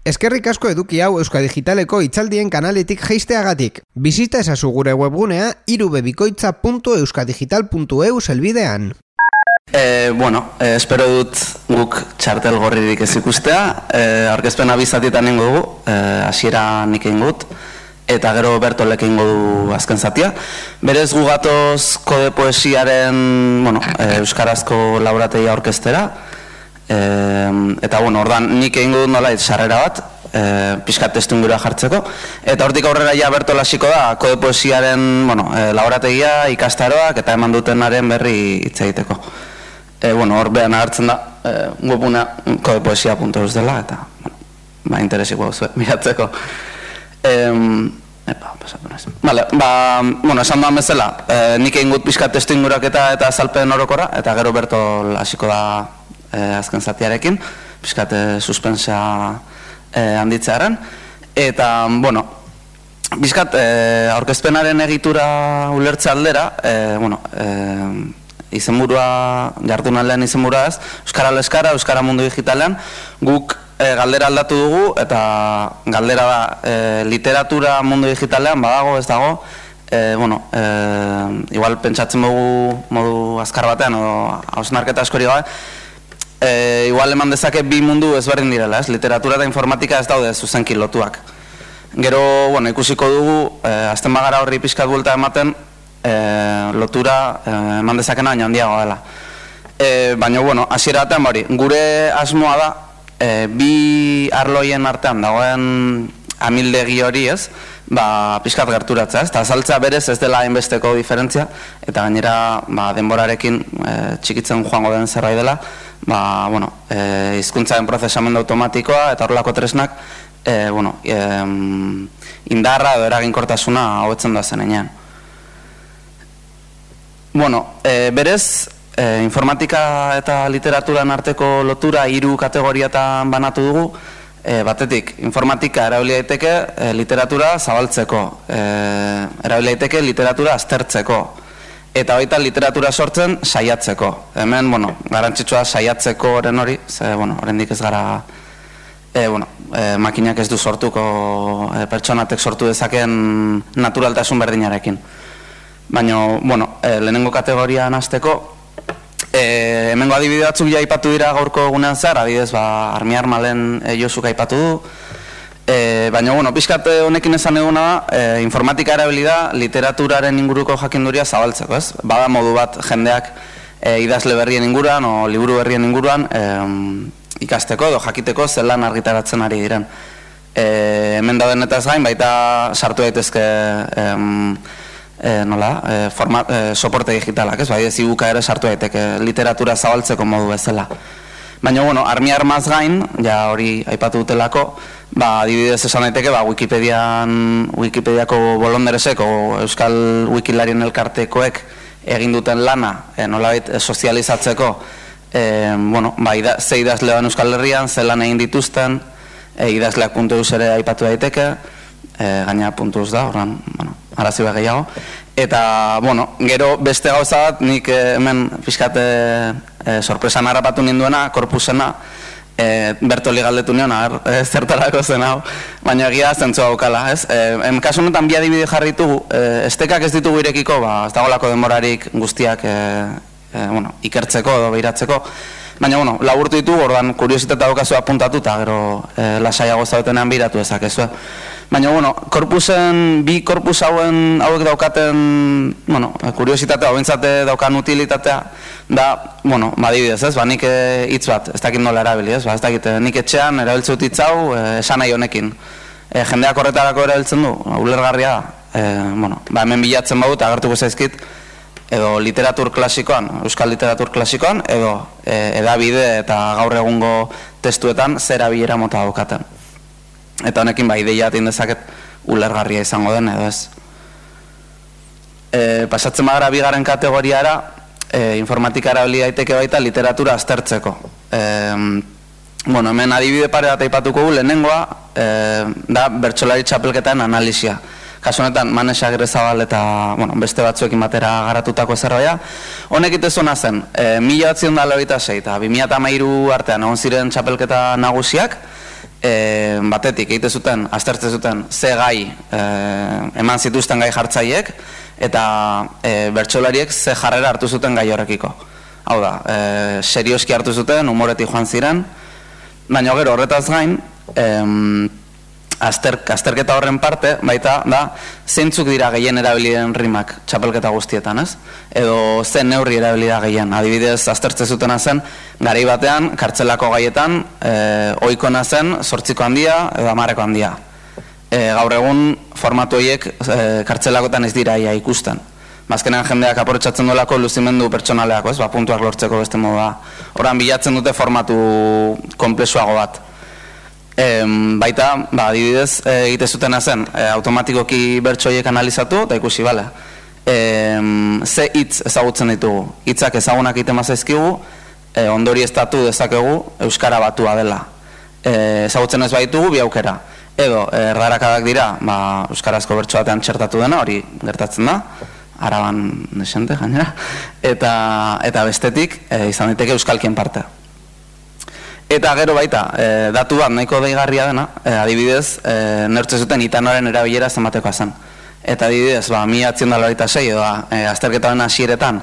Eskerrik asko eduki hau Euskadigitaleko itzaldien kanaletik jeisteagatik. Bizita ezazu gure webgunea irubebikoitza.euskadigital.eu helbidean. Espero dut guk txartel gorririk ez ikustea. Aurkezpena bizatietan ingo dugu, hasiera nik egin gut, eta gero Bertolek egingo du azken zatia. Berez gu gatoz kode poesiaren euskarazko laborategia aurkeztera. Eta ordan nik egingo dut nolait sarrera bat, pixkat testuingurua jartzeko, eta hortik aurrera ja Bertol hasiko da kode poesiaren laborategia, ikastaroak eta eman dutenaren berri hitz egiteko. Hor behan agertzen da webuna kodepoesia.eus dela, eta interesiko miratzeko. Esan duan bezala, nik egin gut pixkat testuingurak eta azalpen orokorra, eta gero Bertol hasiko da azken zatiarekin, pixkat suspensa handitzearen, eta, pixkat aurkezpenaren egitura ulertze aldera, izenburua, jardunaldean izenburua ez, Euskara Leskara, Euskara Mundu Digitalean, guk galdera aldatu dugu, eta galdera da, literatura mundu digitalean badago, ez dago, igual pentsatzen dugu modu azkar batean, o hausnarketa askori gabe, igual eman dezake bi mundu ezberdin direla, ez? Literatura eta informatika ez daude zuzenki lotuak. Gero, ikusiko dugu, azten bagara horri pixkat buelta ematen, lotura eman dezakena baina handiago dela. Baina, hasiera batean gure asmoa da, bi arloien artean dagoen amildegi hori ez, pixkat gerturatzea, ez? Eta azaltzea berez ez dela hainbesteko diferentzia, eta gainera denborarekin txikitzen joango den zerbait dela, hizkuntzaren prozesamendu automatikoa eta horrelako tresnak indarra edo eraginkortasuna hobetzen da zenean. Berez, informatika eta literaturan arteko lotura 3 kategoriatan banatu dugu. Batetik, informatika erabili daiteke literatura zabaltzeko, erabili daiteke literatura aztertzeko, eta baita literatura sortzen saiatzeko. Hemen, garrantzitsua saiatzeko oren hori, oraindik ez gara, makinak ez du sortuko, pertsonatek sortu dezaken naturaltasun berdinarekin. Baina, lehenengo kategorian hasteko, hemengo adibide batzuk ja aipatu dira gaurko egunean zehar, adibidez, Armi Armalen Josuk aipatu du, baina, pixkat honekin esan eguna da, informatika erabili da literaturaren inguruko jakinduria zabaltzeko, ez? Bada modu bat jendeak idazle berrien inguruan, o liburu berrien inguruan, ikasteko edo jakiteko zelan argitaratzen ari diren. Hemen dauden eta ez gain, baita sartu daitezke soporte digitalak, ez? Ez ibuka ere sartu daiteke literatura zabaltzeko modu bezala. Baina, Armi Armaz gain, ja hori aipatu dutelako, adibidez esan daiteke, Wikipediako bolonderesek, o Euskal Wikilarien elkartekoek egin duten lana, nolabait sozializatzeko, ze idazlean Euskal Herrian, ze lan egin dituzten, idazleak.eus ere aipatu daiteke, gaina .eus da, horren, arazi behar gehiago. Eta, gero beste gauza bat, nik hemen pixkate sorpresan harrapatu ninduena, korpusena, Bertoli galdetu nion, zertarako zen hau, baina egia zentzua gaukala, ez? Kasu honetan bi adibide jarritugu, estekak ez ditugu irekiko, ez dagolako denborarik guztiak ikertzeko edo behiratzeko, baina, laburtu ditugu, ordan kuriositatea daukazu apuntatu, eta gero lasaiago zaudetenean behiratu ezakezu. Baina, bi korpus hauek daukaten, kuriositatea, bintzate daukan utilitatea, da, adibidez, ez, nik hitz bat, ez dakit nola erabili, ez dakit, nik etxean erabiltze hitz hau, esan nahi honekin. Jendeak horretarako erabiltzen du, ulergarria da, hemen bilatzen badut, agertuko zaizkit, edo literatur klasikoan, euskal literatur klasikoan, edo edabide eta gaur egungo testuetan zera bilera mota daukaten. Eta honekin ideia atin dezaket ulergarria izango den, edo ez. Pasatzen bagara bigarren kategoriara, informatika erabili daiteke baita literatura aztertzeko. Hemen adibide pare bat aipatuko gu, lehenengoa da bertsolari txapelketaren analisia. Kasu honetan, Manes Agirrezabal eta beste batzuekin batera garatutako zerbaia. Honek itezuna zen, 1986 eta 2013 artean egon ziren txapelketa nagusiak, batetik egite zuten, aztertze zuten ze gai eman zituzten gai jartzaiek, eta bertsolariek ze jarrera hartu zuten gai horrekiko. Hau da, serioski hartu zuten, humoretik joan ziren, baina gero horretaz gain, azterketa horren parte, baita, da, zeintzuk dira gehien erabiliden rimak txapelketa guztietan, ez? Edo zen neurri erabilida gehien. Adibidez, aztertze zutena zen, garai batean, kartzelako gaietan, ohikona zen, 8ko handia, edo 10ko handia. Gaur egun, formatu horiek kartzelakotan ez dira ia ikusten. Azkenean jendeak aprotsatzen duelako luzimendu pertsonaleako, ez? Puntuak lortzeko beste moda. Horan bilatzen dute formatu komplexuago bat. Baita, adibidez, egite zutena zen, automatikoki bertsoiek analizatu, eta ikusi, bale. Ze hitz ezagutzen ditugu. Hitzak ezagunak egiten mazaizkigu, ondorioztatu dezakegu euskara batua dela. Ezagutzen ez baitugu, bi aukera. Edo, erdarakadak dira, euskarazko bertso batean txertatu dena, hori gertatzen da, Araban desente, gainera, eta bestetik izan daiteke euskalkien parte. Eta gero baita, datu bat nahiko deigarria dena, adibidez, neurtze zuten itanoaren erabilera zenbatekoa zen. Eta adibidez, 1996 edo azterketaren hasieretan,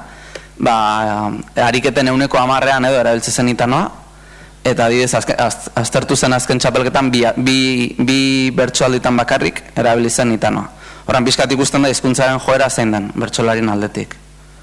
ariketen 10%ean edo erabiltzen zen itanoa, eta adibidez, aztertu zen azken txapelketan bi bertsoalditan bakarrik erabilizen itanoa. Horan pixkat ikusten da hizkuntzaren joera zein den, bertsolarien aldetik.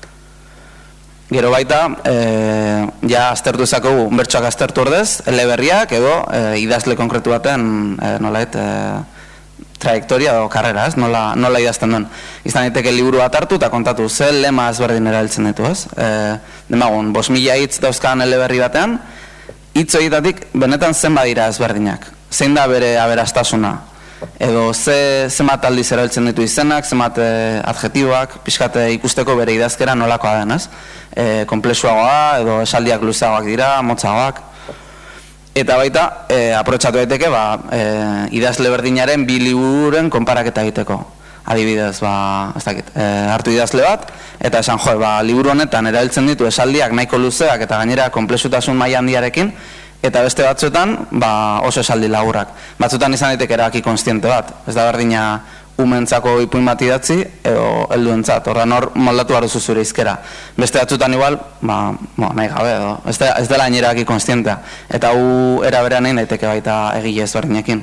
Gero baita, ja aztertu ezakogu bertsoak aztertu ordez, eleberriak edo idazle konkretu baten nolait trajektoria edo karrera, ez? Nola idazten duen. Izan daiteke liburu bat hartu eta kontatu ze lema ezberdin erabiltzen ditu, ez? Demagun, 5.000 hitz dauzkan eleberri batean, hitz horietatik benetan zen badira ezberdinak. Zein da bere aberastasuna? Edo zenbat aldiz erabiltzen ditu izenak, zenbat adjetiboak, pixkate ikusteko bere idazkera nolakoa den, ez? Konplexuagoa, edo esaldiak luzeagoak dira, motzagoak. Eta baita, aprotxatu daiteke, idazle berdinaren bi libururen konparaketa egiteko. Adibidez, ez dakit, hartu idazle bat, eta esan liburu honetan erabiltzen ditu esaldiak nahiko luzeak eta gainera konplexutasun maila handiarekin, eta beste batzuetan oso esaldi laburrak. Batzuetan izan daiteke erabaki kontziente bat. Ez da berdina umentzako ipuin bat idatzi edo helduentzat. Horren hor moldatu behar duzu zure hizkera. Beste batzuetan igual, nahi gabe edo. Ez dela hain erabaki kontzientea. Eta hu eraberean egin daiteke baita egile ezberdinekin.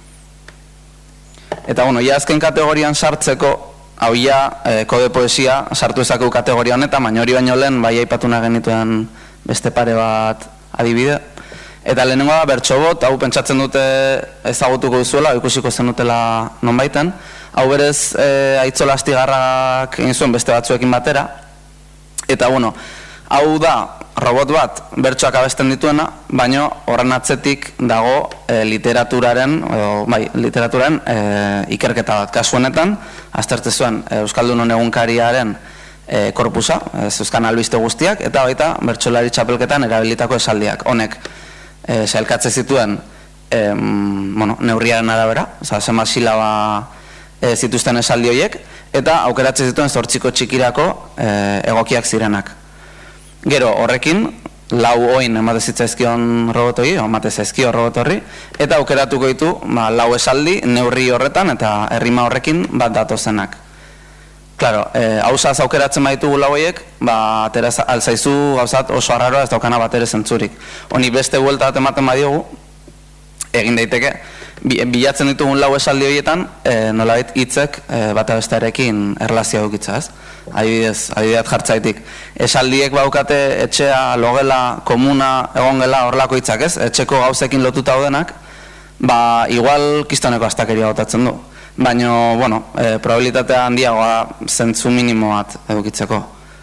Eta ia azken kategorian sartzeko, hau kode poesia sartu ezakegu kategoria honetan, baina hori baino lehen aipatu nahi genituen beste pare bat adibide. Eta lehenengo da, bertsobot, hau pentsatzen dute ezagutuko duzuela, ikusiko zenutela nonbaiten. Hau berez, Aitzola Astigarrak egin zuen beste batzuekin batera. Eta, hau da, robot bat bertsoak abesten dituena, baina horren atzetik dago literaturaren ikerketa bat. Kasu honetan, aztertze zuen Euskaldunon egunkariaren korpusa, Euskan albiste guztiak, eta baita bertsolari txapelketan erabilitako esaldiak. Honek, sailkatze zituen neurriaren arabera, zenbat silaba zituzten esaldi horiek, eta aukeratze zituen 8 txikirako egokiak zirenak. Gero horrekin, 4 oin emate zitzaizkion robotoi, emate zaizkio robot horri, eta aukeratuko ditu 4 esaldi neurri horretan eta errima horrekin bat datozenak. Claro, hausaz aukeratzen baitugu lauiek, atera alzaizu gauzat oso arraroa ez daukana bat ere zentzurik. Honi beste buelta bat ematen badiogu, egin daiteke, bilatzen ditugun 4 esaldi horietan, nolabait hitzek bata bestearekin erlazioa dukitza, ez? Adibidez jartzaitik. Esaldiek baukate etxea, logela, komuna, egongela, horrelako hitzak, ez? Etxeko gauzekin lotuta daudenak, igual kistoneko astakeria botatzen du. Baina, probabilitatea handiagoa zentzu minimo bat edukitzeko.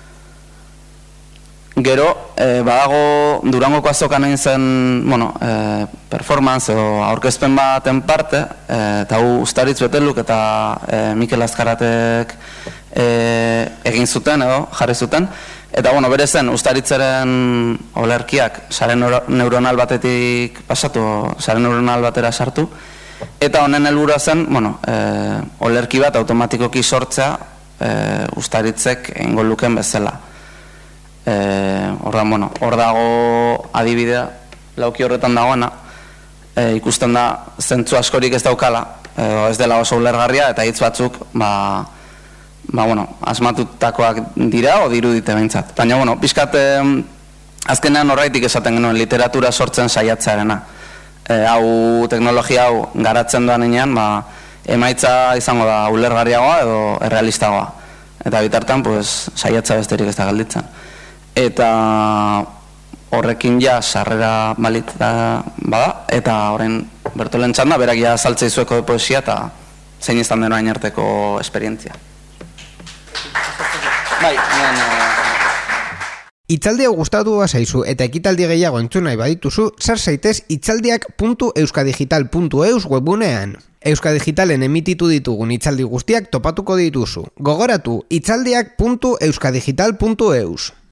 Gero, badago Durangoko azokan egin zen, performance edo aurkezpen baten parte, eta hu Ustaritz Beteluk eta Mikel Azkaratek egin zuten edo jarri zuten. Eta, bere zen, Ustaritzaren olerkiak sare neuronal batetik pasatu, sare neuronal batera sartu, eta honen helburua zen, olerki bat automatikoki sortzea Ustaritzek egingo lukeen bezala. Hor dago adibidea, lauki horretan dagoena, ikusten da zentzu askorik ez daukala, ez dela oso ulergarria, eta hitz batzuk, asmatutakoak dira, o dirudite behintzat. Baina, pixkat, azkenean horreitik esaten genuen literatura sortzen saiatzearena. Hau teknologia hau garatzen doan inean, emaitza izango da ulergarriagoa edo errealistagoa. Eta bitartan, saiatza besterik ez da galditzen. Eta horrekin ja sarrera balit bada, eta horrein Bertolen txanda, berak ja saltzei zueko de poesia eta zein izan denoa inerteko esperientzia. Itzaldi hau gustatu bazaizu eta ekitaldi gehiago entzun nahi badituzu, sar zaitez itzaldiak.euskadigital.eus webunean. Euskadigitalen emititu ditugun itzaldi guztiak topatuko dituzu. Gogoratu, itzaldiak.euskadigital.eus.